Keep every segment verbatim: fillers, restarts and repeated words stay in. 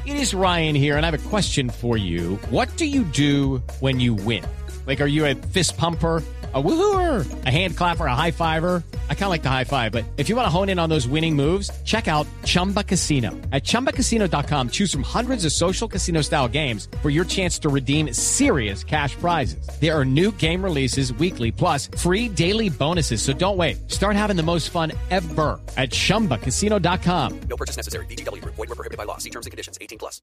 It is Ryan here, and I have a question for you. What do you do when you win? Like, are you a fist pumper, a woohooer, a hand clapper, a high fiver? I kind of like the high five, but if you want to hone in on those winning moves, check out Chumba Casino. At chumba casino dot com, choose from hundreds of social casino style games for your chance to redeem serious cash prizes. There are new game releases weekly, plus free daily bonuses. So don't wait. Start having the most fun ever at chumba casino dot com. No purchase necessary. V G W Group. Void where prohibited by law. See terms and conditions. eighteen plus.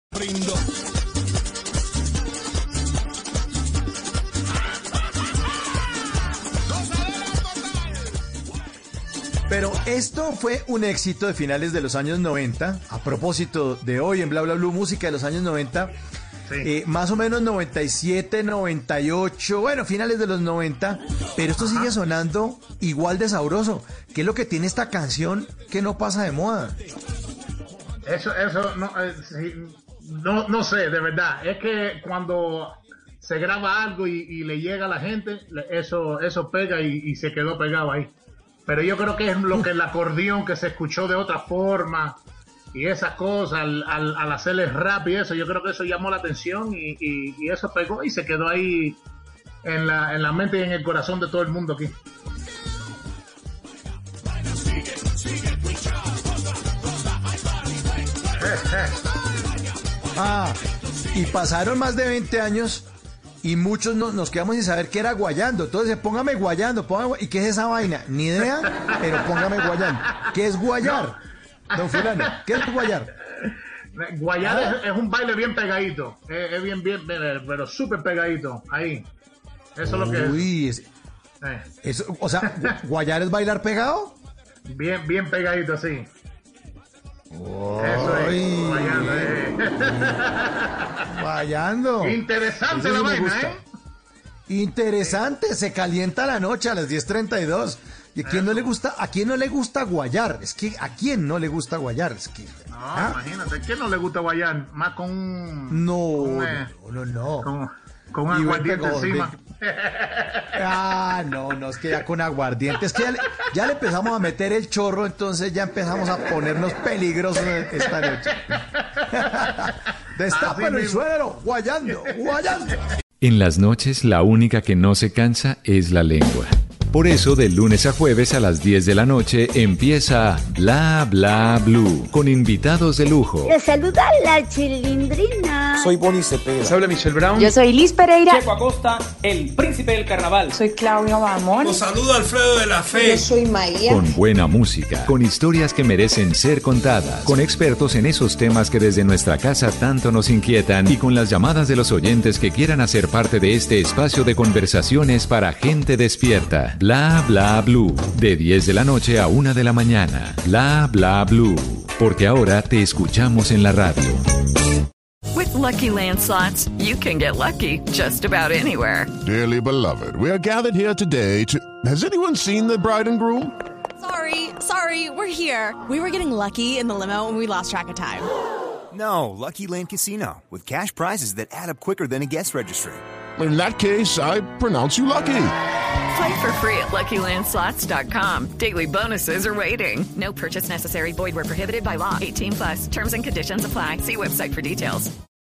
Pero esto fue un éxito de finales de los años noventa. A propósito de hoy en Bla Bla Blue, música de los años noventa. Sí. Eh, más o menos noventa y siete, noventa y ocho, bueno, finales de los noventa. Pero esto sigue sonando igual de sabroso. ¿Qué es lo que tiene esta canción que no pasa de moda? Eso, eso, no, eh, sí, no, no sé, de verdad. Es que cuando se graba algo y, y le llega a la gente, eso, eso pega y, y se quedó pegado ahí. Pero yo creo que es lo que el acordeón que se escuchó de otra forma y esas cosas al, al, al hacerle rap y eso, yo creo que eso llamó la atención y, y, y eso pegó y se quedó ahí en la, en la mente y en el corazón de todo el mundo aquí. Ah, y pasaron más de veinte años y muchos no, nos quedamos sin saber qué era guayando. Entonces, póngame guayando, póngame, ¿y qué es esa vaina? Ni idea, pero póngame guayando. ¿Qué es guayar? Don Fulano, ¿qué es guayar? Guayar ah. es, es un baile bien pegadito, es, es bien, bien, pero súper pegadito, ahí. Eso es lo que es. Uy, es, eh. eso, o sea, ¿guayar es bailar pegado? Bien, bien pegadito, sí. Oh, eso es, guayando. Eh. Guayando. Interesante la vaina, ¿eh? Interesante, se calienta la noche a las diez treinta y dos. ¿Y a quién no le gusta, a quién no le gusta guayar? Es que a quién no le gusta guayar, es que. No, ¿ah? Imagínate, ¿a quién no le gusta guayar? Más con un. No, con, eh, no, no, no. Con, con un aguardiente encima. Ah, no, no, es que ya con aguardiente, es que ya le, ya le empezamos a meter el chorro, entonces ya empezamos a ponernos peligrosos esta noche. Destapan el suero, guayando, guayando. En las noches la única que no se cansa es la lengua. Por eso, de lunes a jueves a las diez de la noche empieza Bla Bla Blue, con invitados de lujo. Les saluda la Chilindrina. Soy Bonnie Cepeda. Les habla Michelle Brown. Yo soy Liz Pereira. Checo Acosta, el príncipe del carnaval. Soy Claudia Bamón. Los saluda Alfredo de la Fe. Yo soy María. Con buena música, con historias que merecen ser contadas, con expertos en esos temas que desde nuestra casa tanto nos inquietan y con las llamadas de los oyentes que quieran hacer parte de este espacio de conversaciones para gente despierta. Bla Bla Blue, de diez de la noche a una de la mañana. Bla Bla Blue, porque ahora te escuchamos en la radio. With Lucky Land Slots, you can get lucky just about anywhere. Dearly beloved, we are gathered here today to... Has anyone seen the bride and groom? Sorry, sorry, we're here. We were getting lucky in the limo and we lost track of time. No, Lucky Land Casino, with cash prizes that add up quicker than a guest registry. In that case, I pronounce you lucky. Play for free at lucky land slots dot com. Daily bonuses are waiting. No purchase necessary. Void where prohibited by law. eighteen plus. Terms and conditions apply. See website for details.